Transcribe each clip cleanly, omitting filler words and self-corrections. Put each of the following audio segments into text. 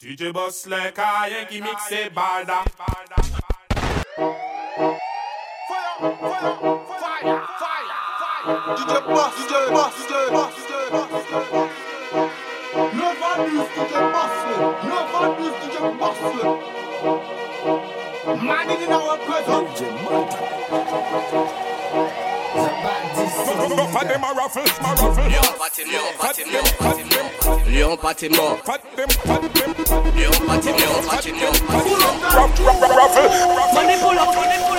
DJ Boss like I qui mixe barda. DJ Boss. Never lose DJ Boss. Man in our presence. Lion pâté mort. Money pull up.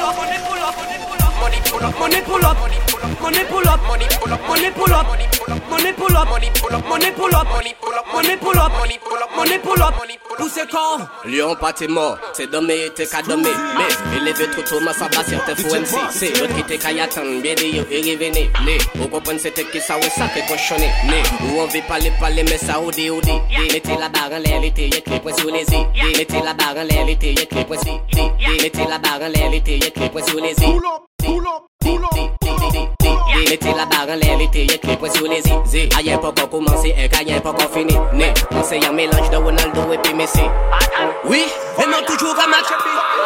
Pousse quand Lion pâté mort, c'est dommé, t'es qu'à dommer. Mais élevé trop tôt, ma sabasser, t'es fou MC. C'est l'autre qui t'es qu'à y attendre, bien dit, et revenez. Vous comprenez, c'était qui ça, ouais, ça, t'es cochonné. Où on veut parler, mais ça, OD. Mettez la barre en l'air, l'été, y'a clé, point sur les i. Mettez la barre en l'air, l'été, y'a clé, point sur les i. Mettez la barre en l'air, l'été, y'a clé, point sur les i. Mettez la barre en l'air, l'été, y'a clé, point sur les i. Aïe, pas encore commencé, et qu'aïe, pas encore fini. On sait y'a mélange de Ronaldo et puis Messi. Oui, et non toujours à match.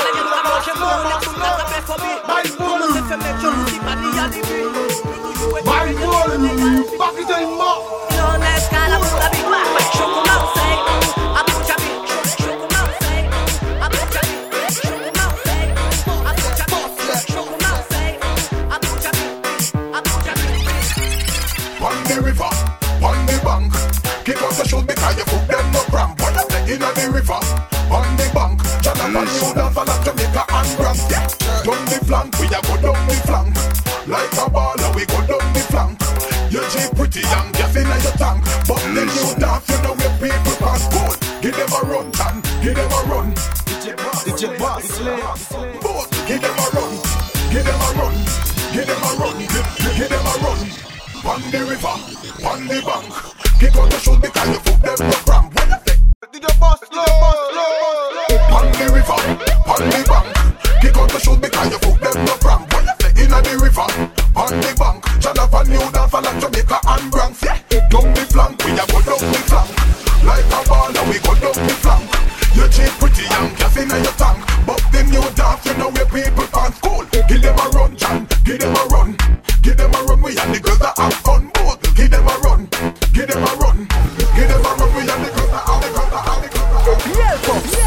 In the river, on the bank, Jonathan Sudan, Falak, Jamaica and Bronx. Down the flank, we a go down the flank. Like a baller, we go down the flank. You G pretty young, gas in your tank. But then you dance, you know where people pass good. Give them a run, Tan, give them a run. DJ Boss, both, give them a run. Give them a run, give them a run, give them a run. On the river, on the bank. Kick out the shoes because you foot them no cramp. DJ Boss, on the river, on the bank. Kick out the shoes because you foot them no cramp. In the river, on the bank. Jonathan Newton, Falak, Jamaica and Bronx. Down the flank, we a go down the flank. Like a baller, we go down the flank. You cheap pretty young, gas in your tank. But then you dance, you know where people can't school. Give them a run, John, give them a run. Give them a run, we and the girls that have fun. Both, give them a run, give them a run. Give them a run, we and the girls that have the girls that have the girls that have the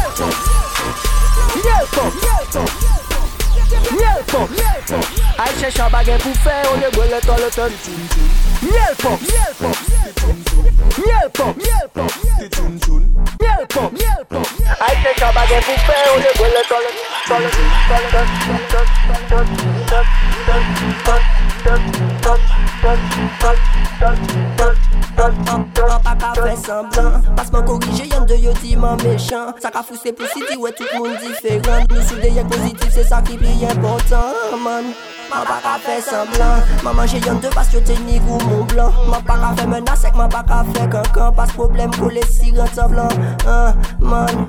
Aïe cherche un baguette pour faire, on est brûlé dans le ton. Miel pop. Aïe cherche un baguette pour faire, on est brûlé dans le Papa qu'a fait semblant, passe moi corriger, y'en de yo dit man méchant. Ça qu'a foussé pour city, ouais tout le monde différent. Nous sous des yeux positifs, c'est ça qui est important, man. Papa qu'a fait semblant, maman j'ai y'en de parce que t'es ni goût mon blanc. Papa qu'a fait menace, ma papa qu'a fait cancan. Pas de problème pour les sirènes semblant, man.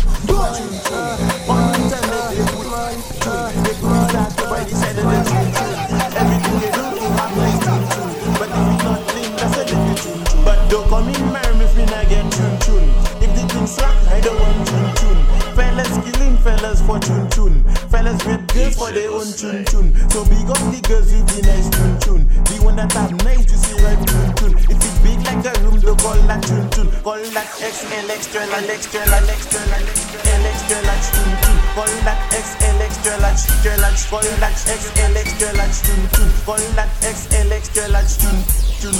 But don't come in marry if we not get tune. If the thing slack, I don't want tune. Fellas killing fellas for tune. Fellas with girls for their own tune. So big up the girls with the nice tune. The one that have nice to see right tune. If it's big like a room, don't call that tune. Call that XL extra large extra large tune. Call that XL extra large. Call that XL extra large tune. Call that XL extra large tune.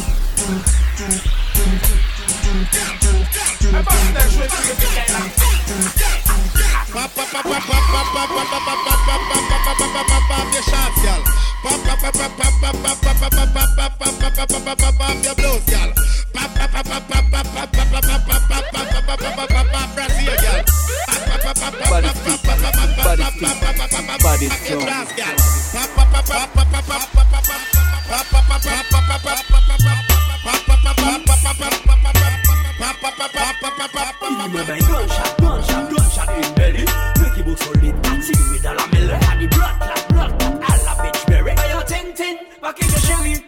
Gunshot in belly. Make it book solid, that's it with all the melody. And the blood clot, all the bitch berry. Yo, tin, back in the sherry.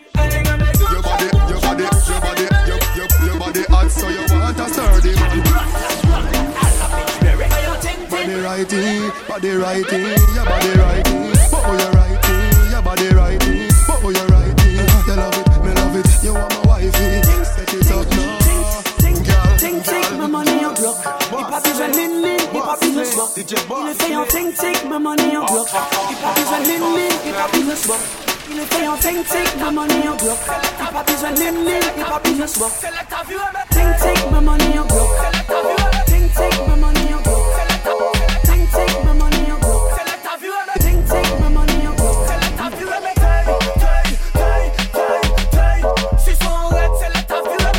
Your body hot, so you want a sturdy man. body righty, your body righty. But oh you righty, your body righty. But oh you righty, you love it, me love it. You want my wifey, set it up now. Ting ting, my money en bloc. Il pas besoin de mine, il pas besoin de swap. Il est fait en ting ting, ma money en bloc. Il pas besoin de mine, il pas besoin de swap. Il est fait en ting ting, ma money en bloc. Il pas besoin de mine, il pas besoin de swap. Ting ting, ma money en bloc. Ting ting, ma money en bloc. Ting ting, ma money en bloc. Ting ting, ma money en bloc. Si son red, c'est la ta vue.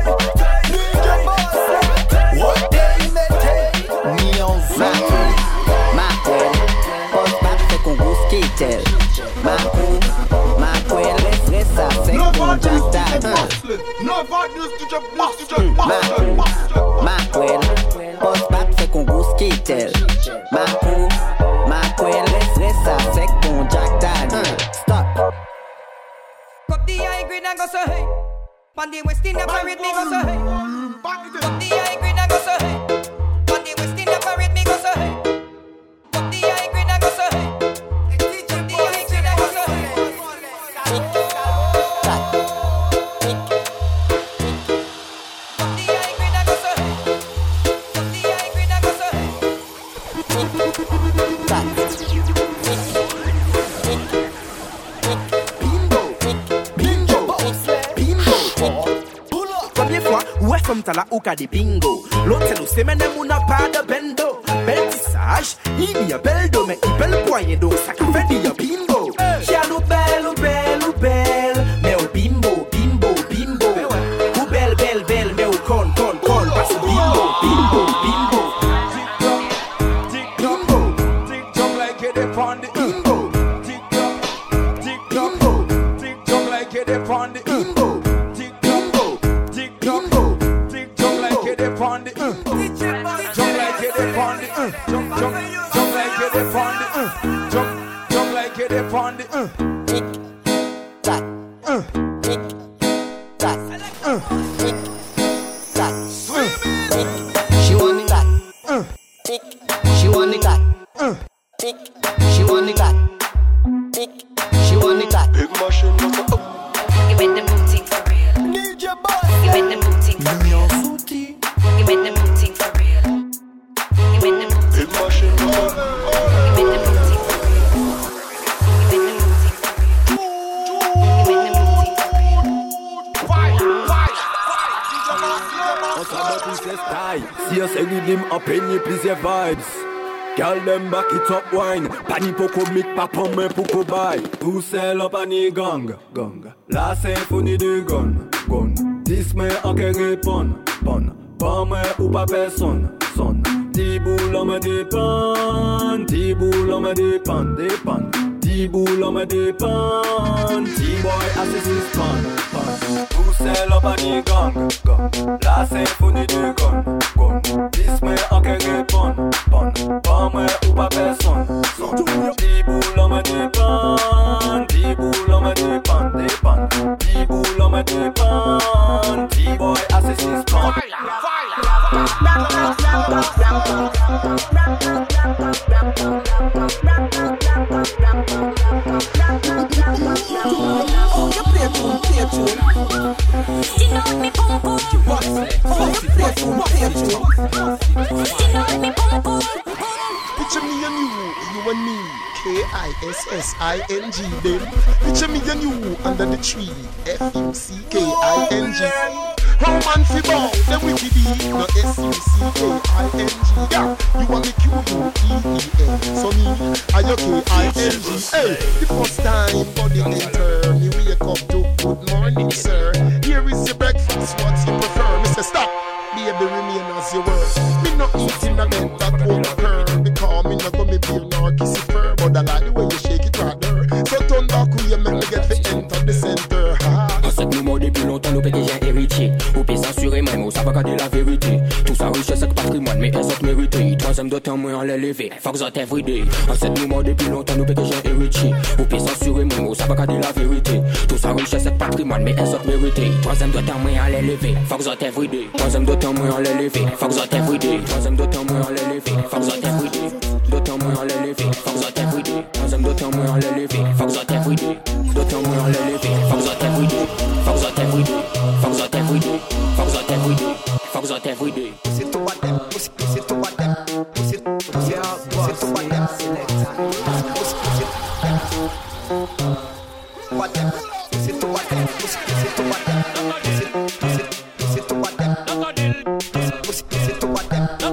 Pandy West in the parade, me go so hey. Put the high grade and go so hey. Pandy West in the parade, me go so hey. Put the high grade and go so hey. Put the high grade and go so hey. Put the high grade and go so hey. Put the high grade and go so hey. Combien fois, ouais, comme t'as la ouka des bingo. L'autre, c'est nous, c'est même on n'a pas de bendo. Bel tissage, il y a bel dos, mais il bel poignet d'eau. Ça qui fait dire bingo. Jaloux belle, ou belle, ou belle. Mais au bimbo, bimbo, bimbo. Ou belle, belle, belle, mais au con. Parce que bimbo, bimbo, bimbo. Bimbo, tick-tock like it upon the bimbo. Tick-tock, tick-tock like it upon the bimbo. Upon the jump like it upon the jump like it upon the jump like it upon the tick tock tick tock tick tock she want it that tick she want it that tick she want it that tick she want it that big machine give me the booty for real need your boss give me the booty for real give me the booty for real. Give me the booty. Big machine. Give me the booty for real. Give me the booty for real. Give me the booty for real. Fight. On s'en bat plus les styles. Si on s'est rhythm up in you plusieurs vibes. Girl them back it up wine. Pani poko mik pa pon men poko buy. Tout seul en pani gang. La symphonie du gun. Dis me en que répondre. Pas moi ou pas personne, son. Ti boule on me dépend, ti boule on me dépend. Ti boule on me dépend, ti boy assist pan. Tout seul en panier gang. La symphonie du gun. Dis-moi en que répondre, pas moi ou pas personne, son. Ti boule on me dépend, ti boule on me dépend. Ti boule on me dépend, ti boy assist pan. Picture me and you and me, K-I-S-S-I-N-G then. Picture me and you under the tree, F-U-C-K-I-N-G. How man fi bow, them wicked be, no S-U-C-K-I-N-G. Yeah, you want me Q-U-E-E-N. So me, I K-I-N-G. Hey, the first time body enter, me wake up to good morning, sir. Here is your breakfast, what you prefer? Me say stop, baby remain as you were. Me no eating a bed that won't occur. Because me no go me feel nor kiss it fur. But I like the way you shake it right there. So turn back who you make me get to enter the center. En cette mouvement depuis longtemps nous pétés j'ai héritier. Ou peut s'assurer même, ou ça va garder la vérité. Tout ça richesse avec patrimoine, mais elles ont mérité. Troisième de temps, moi en l'élevé, fuck that everyday. En cette mouvement depuis longtemps nous pétés j'ai héritier. Ou peut s'assurer même, ou ça va garder la vérité. Tout ça richesse avec patrimoine, mais elles ont mérité. Troisième de temps, moi en l'élevé, fuck that everyday. Troisième de temps, moi en l'élevé, fuck that everyday. Troisième de temps, moi en l'élevé, fuck that everyday. De temps, moi en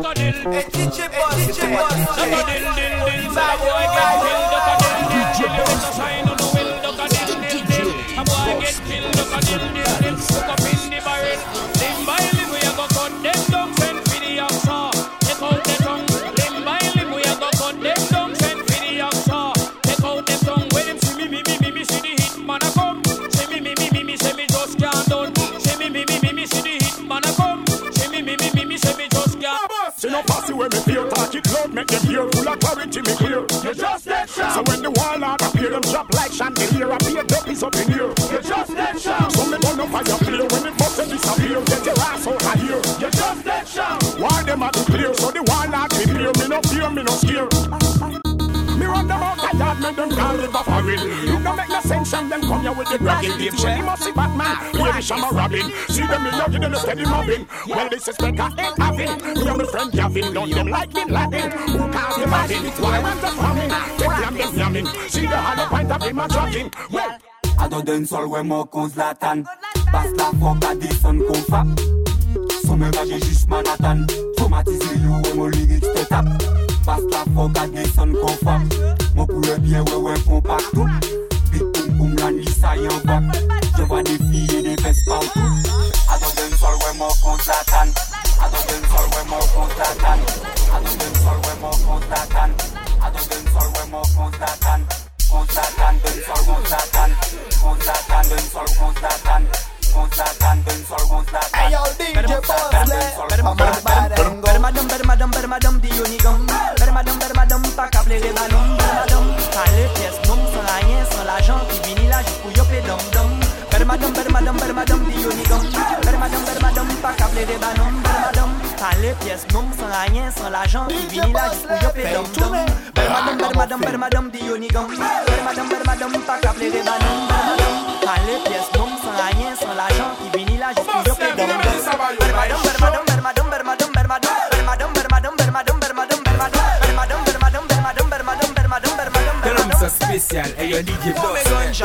duck a dill. DJ boss, duck a dill, dill. Bad boy get killed, duck a dill, dill. You better shine on the will, duck a dill, dill, dill. A boy get killed, duck a dill, dill, dill. Look up in the barrel. Limb by limb we a go cut them down, send for the oxa. Take out the tongue. Limb by limb we a go cut them down, send for the oxa. Take out the tongue. When them see me, see the hit man a come. See me, say me just can't done. See me, see the hit man a come. See me, say me just can't. See no fussy when me feel talk it loud, make them hear full of clarity me clear. You just dead shot. So when the warlord appear, them drop like chandelier. I be a duck is up in here. You just dead shot. So me burn up fire clear when the bus disappear. Get your ass out of here. You just dead shot. Why them are too clear? So the warlord prepare. Me no fear, me no scare. Me run them out of yard, make them call it a foreign. You don't make no sense and them come here with the bragging. Dave Shelly must see Batman, here Shama Robin. See them in love, you don't steady mobbing. Well, this is better, ain't having. Me and my friend Gavin, don't them like Bin Laden. Who can't imagine? Why I'm the farming? Take them, them yamming. See the hollow point of him a jogging. Well, I don't dance all when more cause Latan. Passe la forme à des sons qu'on frappe. Son me va, j'ai juste Manhattan. Traumatisé, you, et mon lyrics te tape. Passe la forme à des sons qu'on frappe. Mon poulet bien, ouais, qu'on partout. Big boom boom, la nuit, ça y en va. Je vois des filles et des fesses partout. I don't dance all when more cause Latan. I don't dance all when more cause Latan. I don't dance all when more cause Latan. I don't dance all when more cause Latan. Cause Latan, dance all cause Latan. Cause Latan, dance all cause Latan. Hey yo, DJ Boss, better madame, di unigum. Better madame, pas qu'à plaire les ballons. Better madame, quand les pièces non, sans rien, sans l'argent, qui vini là, juste pour yopé dom dom. Better madame, di unigum. Better madame, pas qu'à plaire les ballons. Better madame, quand les pièces non, sans rien, sans l'argent, qui vini là, juste pour yopé dom dom. Better madame, di unigum. Better madame, pas qu'à plaire les ballons. Quand les pièces non, sans rien, sans l'argent, qui vini là, juste pour yopé dom dom. Spécial, et y'a DJ Boss. Ganja.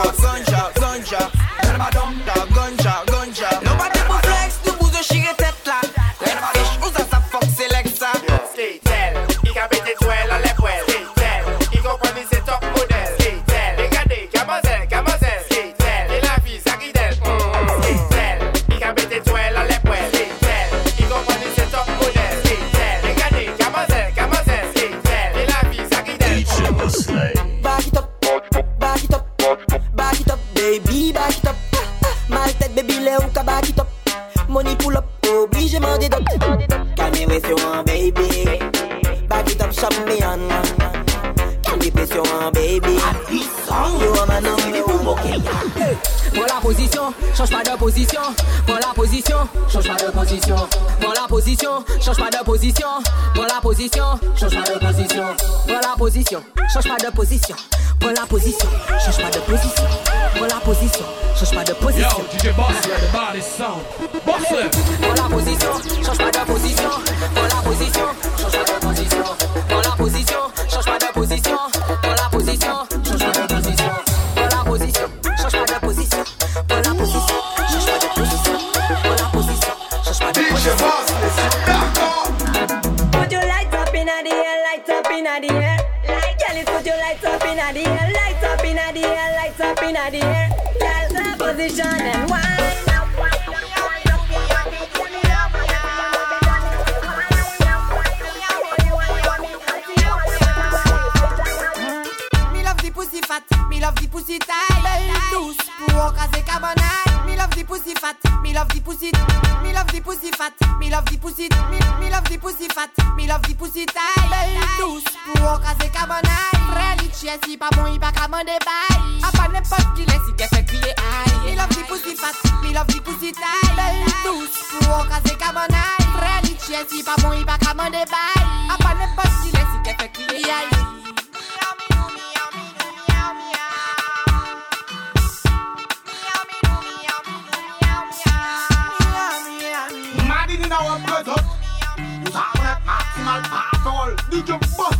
Nobody pour flex, nous vous chirez tête là. Où ça fuck select ça. Skatel, il a pété toile à l'époile. Skatel, il comprend c'est top modèle. Skatel, regardez, camoiselle. Skatel, et la vie, ça qui d'elle. Skatel, il a pété toile à l'époile. Skatel, il comprend c'est top modèle. Skatel, regardez, camoiselle. Skatel, et la vie, ça qui d'elle. Back it up, baby, back it up. My tête, baby, les ou back it up. Money pull up, obligé mandé d'op. Calme pression, baby. Back it up, champion. Calme pression, baby. Yo, maintenant, il est pour moquer. Prends la position, change pas de position. Prends la position, change pas de position. Prends la position, change pas de position. Prends la position, change pas de position. Prends la position, change pas de position. Prends la position, change pas de position. Prends la position, change pas de position. Yo, DJ Boss, let the body sound. Boss it. Prends la position, change pas de position. Prends la position, change pas de position. Prends la position, change pas de position. Prends la position, change pas de position. Prends la position, change pas de position. Prends la position, change pas de position. Prends la position, change pas de position. Put your lights up in the air, lights up in the air. Girl, put your lights up in the air, lights up in the air, lights up in the air. Girl, position and wine. Me love the pussy tight. Belle douce, pour caser cabanaille. Me love the pussy fat. Me love the pussy. Me love the pussy fat. Me love the pussy. Me love the pussy fat. Me love the pussy tight. Belle douce, pour caser cabanaille. Frère Litchie, si pas bon, il pas qu'à m'en débaille. A pas n'importe qui laisse, il te fait crier aïe. Me love the pussy fat. Me love the pussy tight. Belle douce, pour caser cabanaille. Frère Litchie, si pas bon, il pas qu'à m'en débaille. A pas n'importe qui laisse, il te fait crier aïe. In our blood, you have a maximal power. DJ Boss.